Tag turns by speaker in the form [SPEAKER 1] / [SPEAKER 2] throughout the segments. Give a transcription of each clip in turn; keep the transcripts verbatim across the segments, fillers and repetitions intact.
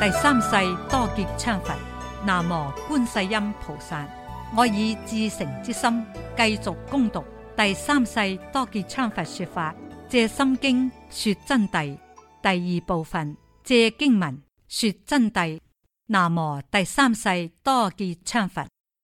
[SPEAKER 1] 第三世多杰羌佛，南無觀世音菩薩。我以至誠之心繼續攻讀第三世多杰羌佛說法，借心經說真諦第二部分，借經文說真諦。南無第三世多杰羌佛。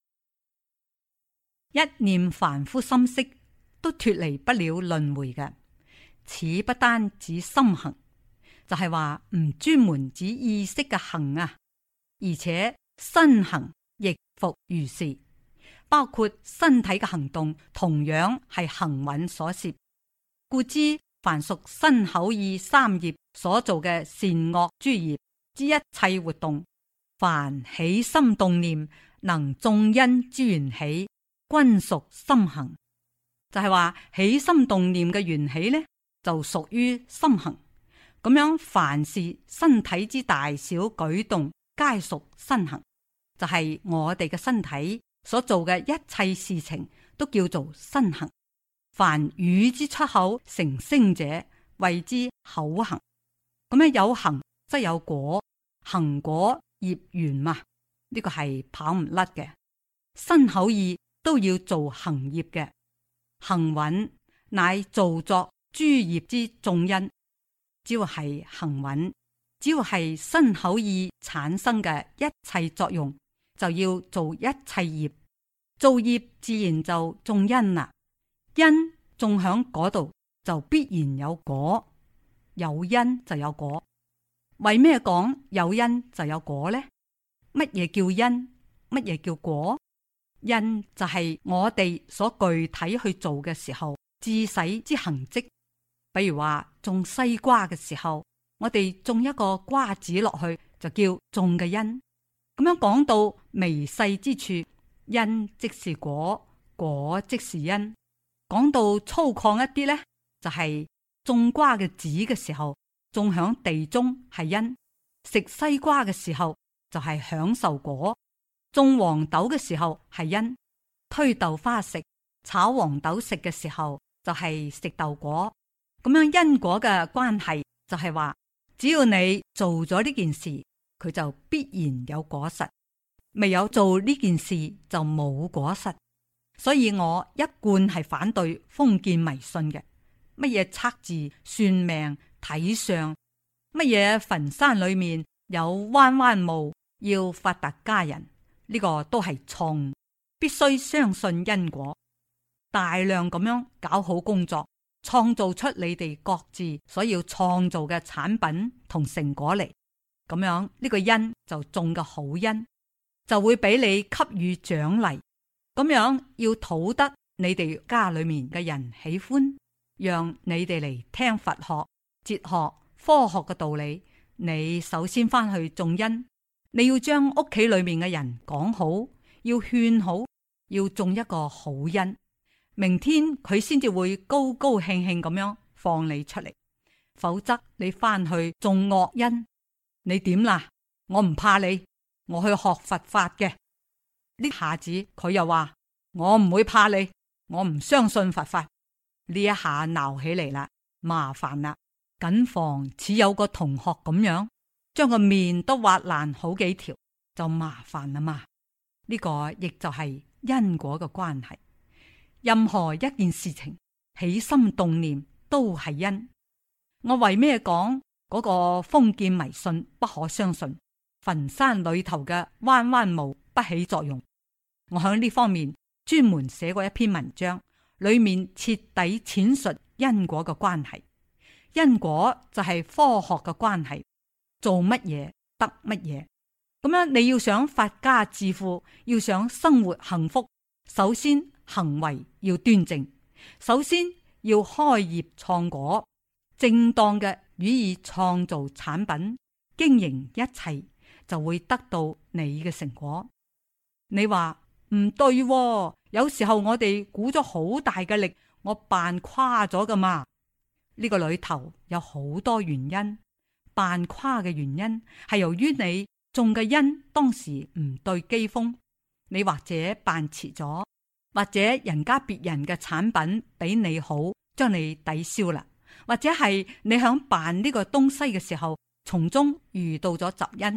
[SPEAKER 1] 一念凡夫心識都脫離不了輪迴嘅，此不單指心行，就係話唔專門指意識嘅行啊，而且身行亦復如是，包括身體嘅行動同樣係行蘊所攝。故知凡屬身口意三業所做嘅善惡諸業之一切活動，凡起心動念能種因之緣起，均屬心行。就係話起心動念嘅緣起呢，就屬於心行。咁樣凡是身體之大小舉動，皆屬身行。就係、是、我哋嘅身體所做嘅一切事情，都叫做身行。凡語之出口成聲者，謂之口行。咁樣有行則有果，行果業緣嘛，呢、這個係跑唔甩嘅。身口意都要做行業嘅，行蘊乃造作諸業之種因。只要係行蘊，只要係身口意產生嘅一切作用，就要做一切業。做業自然就種因啦，因種響嗰度就必然有果，有因就有果。為咩講有因就有果呢？乜嘢叫因？乜嘢叫果？因就係我哋所具體去做嘅時候，致使之行跡。比如話種西瓜嘅時候，我哋種一個瓜子落去，就叫種嘅因。咁樣講到微細之處，因即是果，果即是因。講到粗獷一啲呢，就係、是、種瓜嘅籽嘅時候，種響地中係因；食西瓜嘅時候就係享受果；種黃豆嘅時候係因；推豆花食、炒黃豆食嘅時候就係食豆果。咁樣因果嘅關係就係話，只要你做咗呢件事，佢就必然有果實；未有做呢件事就冇果實。所以我一貫係反對封建迷信嘅，乜嘢測字、算命、睇相，乜嘢墳山裏面有彎彎墓要發達家人，呢個都係錯誤。必須相信因果，大量咁樣搞好工作，創造出你哋各自所要創造嘅產品同成果嚟，咁樣呢個因就種嘅好因，就會俾你給予獎勵。咁樣要討得你哋家裏面嘅人喜歡，讓你哋嚟聽佛學、哲學、科學嘅道理。你首先翻去種因，你要將屋企裏面嘅人講好，要勸好，要種一個好因。明天佢先至會高高興興咁樣放你出嚟，否則你翻去種惡因，你點啦？我唔怕你，我去學佛法嘅。呢下子佢又話我唔會怕你，我唔相信佛法。呢一下鬧起嚟啦，麻煩啦，謹防似有個同學咁樣將個面都挖爛好幾條，就麻煩啦嘛。呢個亦就係因果嘅關係。任何一件事情起心動念都係因。我為咩講嗰個封建迷信不可相信？墳山裏頭嘅彎彎墓不起作用。我喺呢方面專門寫過一篇文章，裏面徹底闡述因果嘅關係。因果就係科學嘅關係，做乜嘢得乜嘢。咁樣你要想發家致富，要想生活幸福，首先行為要端正，首先要開業創果，正當嘅予以創造產品，經營一切，就會得到你嘅成果。你話唔對喎，有時候我哋鼓咗好大嘅力，我扮誇咗噶嘛？呢個裏頭有好多原因，扮誇嘅原因係由於你種嘅因當時唔對機鋒，你或者扮遲咗，或者人家別人嘅產品比你好，將你抵消啦，或者係你響辦呢個東西嘅時候，從中遇到咗雜因，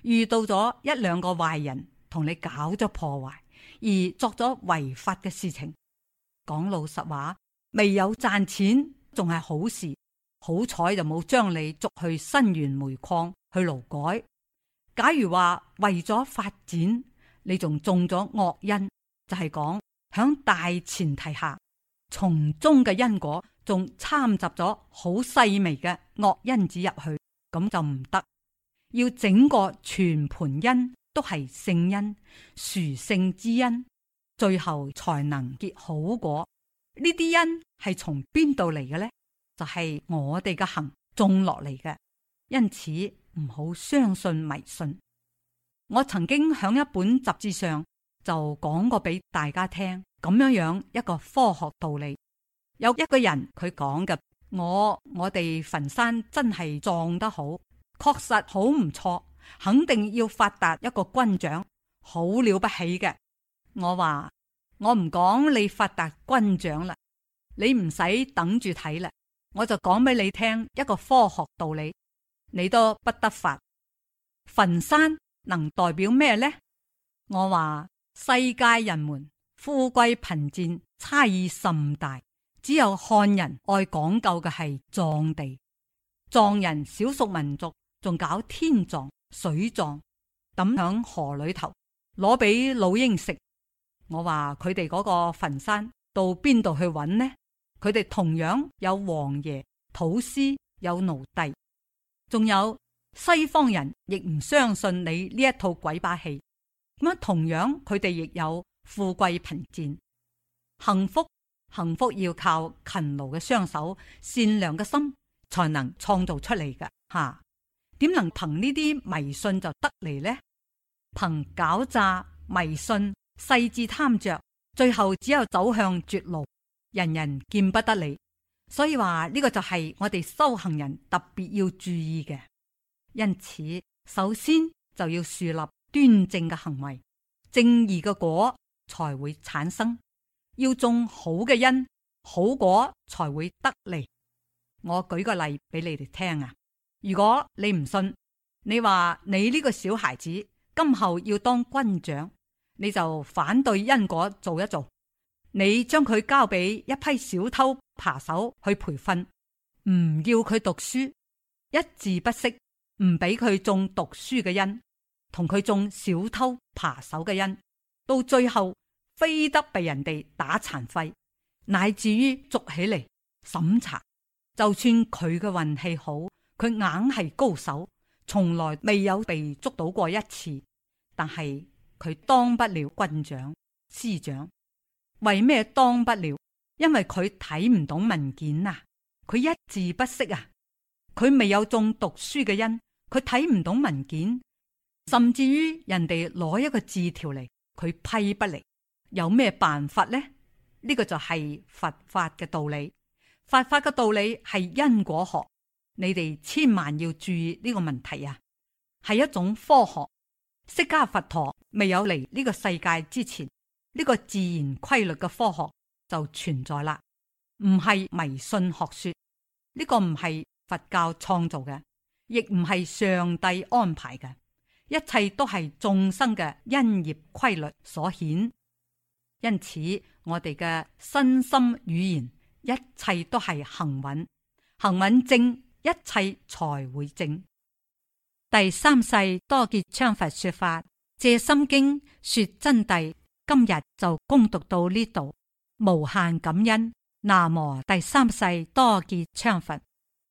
[SPEAKER 1] 遇到咗一兩個壞人同你搞咗破壞，而作咗違法嘅事情，講老實話，未有賺錢仲係好事，好彩就冇將你捉去新源煤礦去勞改。假如話為咗發展，你仲中咗惡因，就係講響大前提下，從中嘅因果仲摻雜咗好細微嘅惡因子入去，咁就唔得。要整個全盤因都係聖因、殊勝之因，最後才能結好果。呢啲因係從邊度嚟嘅呢？就係、是、我哋嘅行種落嚟嘅。因此唔好相信迷信。我曾經響一本雜誌上就講過俾大家聽，咁樣樣一個科學道理。有一個人佢講嘅，我我哋墳山真係葬得好，確實好唔錯，肯定要發達一個軍長，好了不起嘅。我話我唔講你發達軍長啦，你唔使等住睇啦，我就講俾你聽一個科學道理，你都不得法。墳山能代表咩呢？我話世界人們富貴貧賤差異甚大，只有漢人愛講究嘅係葬地，藏人少數民族仲搞天葬、水葬，抌響河裏頭攞俾老鷹食。我話佢哋嗰個墳山到邊度去揾呢？佢哋同樣有王爺、土司，有奴隸，仲有西方人亦唔相信你呢一套鬼把戲。咁樣同樣佢哋亦有富貴貧賤，幸福幸福要靠勤勞嘅雙手、善良嘅心才能創造出嚟㗎吓。點能憑呢啲迷信就得嚟呢？憑狡詐、迷信、細緻貪着，最後只有走向絕路，人人見不得你。所以話呢個就係我哋修行人特別要注意嘅。因此，首先就要樹立端正嘅行為，正義嘅果才會產生。要種好嘅因，好果才會得嚟。我舉個例俾你哋聽啊！如果你唔信，你話你呢個小孩子今後要當軍長，你就反對因果做一做，你將佢交俾一批小偷扒手去培訓，唔要佢讀書，一字不識，唔俾佢種讀書嘅因，同佢種小偷扒手嘅因，到最後非得被人哋打殘廢，乃至於捉起嚟審查。就算佢嘅運氣好，佢硬係高手，從來未有被捉到過一次，但係佢當不了軍長、師長。為咩當不了？因為佢睇唔懂文件啊，佢一字不識啊，佢未有種讀書嘅因，佢睇唔懂文件，甚至於人哋攞一個字條嚟，佢批不嚟。有咩辦法呢？呢個就係佛法嘅道理。佛法嘅道理係因果學，你哋千萬要注意呢個問題啊！係一種科學。釋迦佛陀未有嚟呢個世界之前，呢個自然規律嘅科學就存在啦，唔係迷信學說。呢個唔係佛教創造嘅，亦唔係上帝安排嘅，一切都係眾生嘅因業規律所顯。因此，我哋嘅身心語言，一切都係行穩，行穩正，一切才會正。第三世多杰羌佛說法，藉心經說真諦。今日就恭讀到呢度，無限感恩。南無第三世多杰羌佛。